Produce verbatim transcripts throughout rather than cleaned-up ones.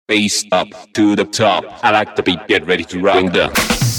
Bass up to the top. I like the beat, get ready to rock down.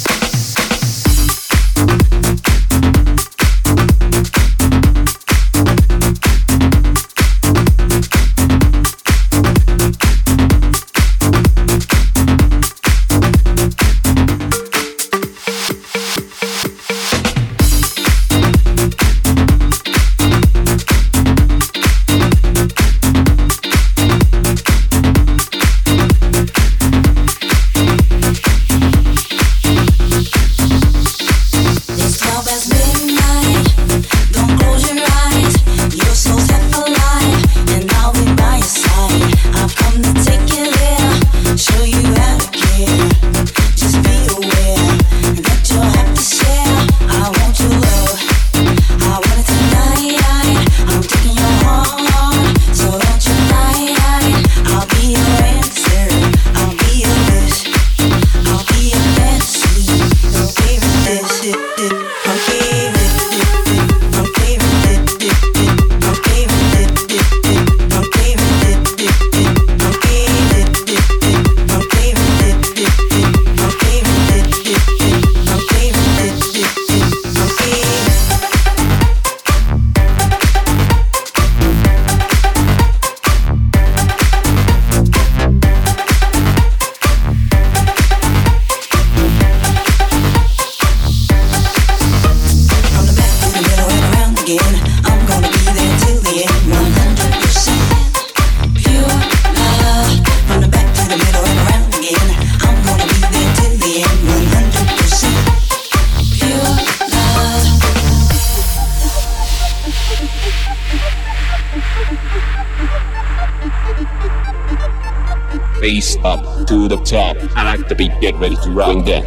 Bass up to the top. I like the beat, get ready to rock down.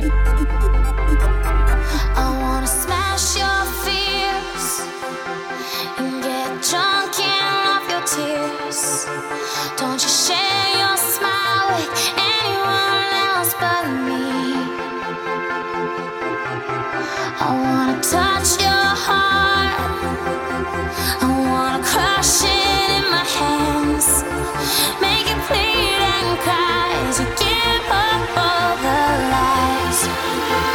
I wanna smash your fears and get drunk in off your tears. Don't you share your smile with anyone else but me. I wanna touch your heart. I wanna crush it in my hands. Make it bleed and cry as you give up all the lies.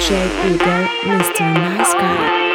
диджей Игорь, мистер Nice Guy.